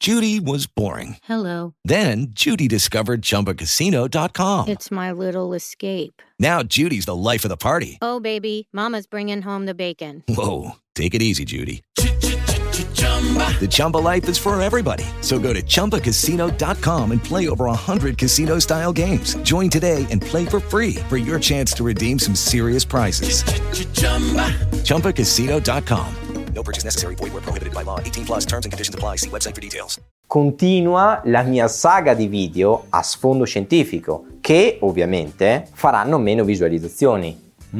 Judy was boring. Hello. Then Judy discovered ChumbaCasino.com. It's my little escape. Now Judy's the life of the party. Oh, baby, mama's bringing home the bacon. Whoa, take it easy, Judy. The Chumba life is for everybody. So go to ChumbaCasino.com and play over 100 casino-style games. Join today and play for free for your chance to redeem some serious prizes. ChumbaCasino.com. No purchase necessary. Void where prohibited by law. 18 plus terms and conditions apply. See website for details. Continua la mia saga di video a sfondo scientifico, che ovviamente faranno meno visualizzazioni,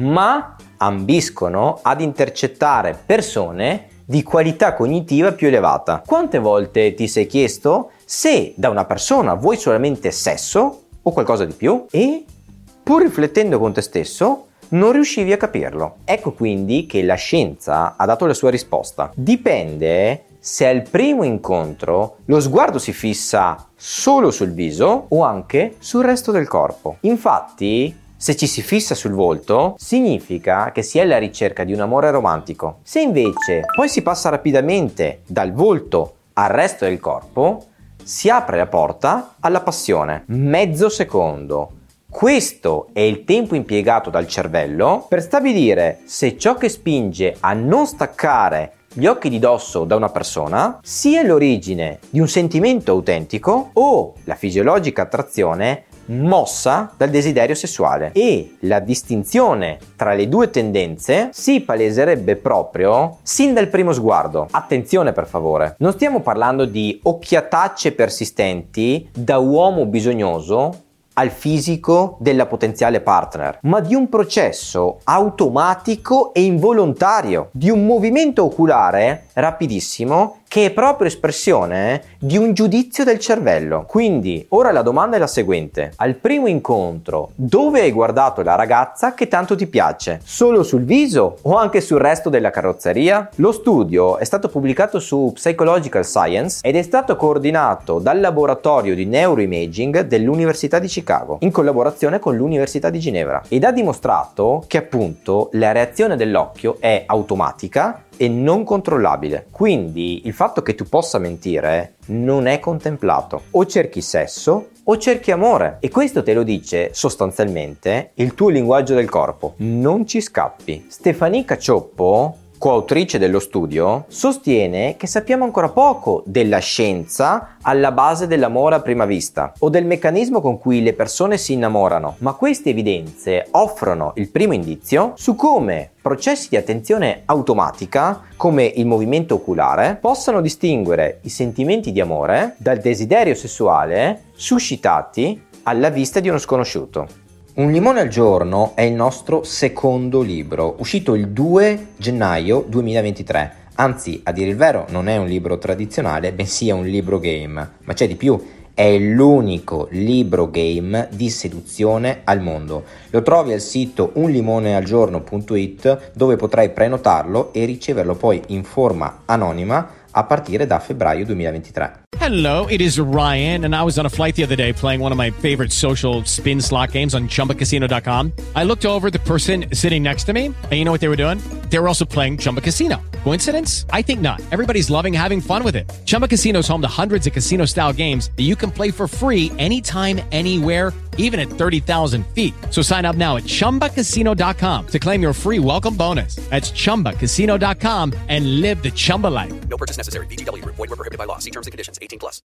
ma ambiscono ad intercettare persone di qualità cognitiva più elevata. Quante volte ti sei chiesto se da una persona vuoi solamente sesso o qualcosa di più e, pur riflettendo con te stesso, non riuscivi a capirlo? Ecco quindi che la scienza ha dato la sua risposta. Dipende se al primo incontro lo sguardo si fissa solo sul viso o anche sul resto del corpo. Infatti, se ci si fissa sul volto, significa che si è alla ricerca di un amore romantico. Se invece poi si passa rapidamente dal volto al resto del corpo, si apre la porta alla passione. Mezzo secondo. Questo è il tempo impiegato dal cervello per stabilire se ciò che spinge a non staccare gli occhi di dosso da una persona sia l'origine di un sentimento autentico o la fisiologica attrazione mossa dal desiderio sessuale. E la distinzione tra le due tendenze si paleserebbe proprio sin dal primo sguardo. Attenzione per favore, non stiamo parlando di occhiatacce persistenti da uomo bisognoso al fisico della potenziale partner, ma di un processo automatico e involontario, di un movimento oculare rapidissimo che è proprio espressione di un giudizio del cervello. Quindi, ora la domanda è la seguente: al primo incontro, dove hai guardato la ragazza che tanto ti piace? Solo sul viso o anche sul resto della carrozzeria? Lo studio è stato pubblicato su Psychological Science ed è stato coordinato dal laboratorio di neuroimaging dell'Università di Chicago, in collaborazione con l'Università di Ginevra, ed ha dimostrato che appunto la reazione dell'occhio è automatica e non controllabile. Quindi il fatto che tu possa mentire non è contemplato. O cerchi sesso o cerchi amore, e questo te lo dice sostanzialmente il tuo linguaggio del corpo. Non ci scappi. Stefanie Cacioppo, coautrice dello studio, sostiene che sappiamo ancora poco della scienza alla base dell'amore a prima vista o del meccanismo con cui le persone si innamorano, ma queste evidenze offrono il primo indizio su come processi di attenzione automatica, come il movimento oculare, possano distinguere i sentimenti di amore dal desiderio sessuale suscitati alla vista di uno sconosciuto. Un limone al giorno è il nostro secondo libro, uscito il 2 gennaio 2023. Anzi, a dire il vero, non è un libro tradizionale, bensì è un libro game. Ma c'è di più, è l'unico libro game di seduzione al mondo. Lo trovi al sito unlimonealgiorno.it, dove potrai prenotarlo e riceverlo poi in forma anonima a partire da febbraio 2023. Hello, it is Ryan, and I was on a flight the other day playing one of my favorite social spin slot games on ChumbaCasino.com. I looked over at the person sitting next to me, and you know what they were doing? They were also playing Chumba Casino. Coincidence? I think not. Everybody's loving having fun with it. Chumba Casino is home to hundreds of casino-style games that you can play for free anytime, anywhere, even at 30,000 feet. So sign up now at ChumbaCasino.com to claim your free welcome bonus. That's ChumbaCasino.com and live the Chumba life. No purchase necessary. VGW. Void where prohibited by law. See terms and conditions. 18 plus.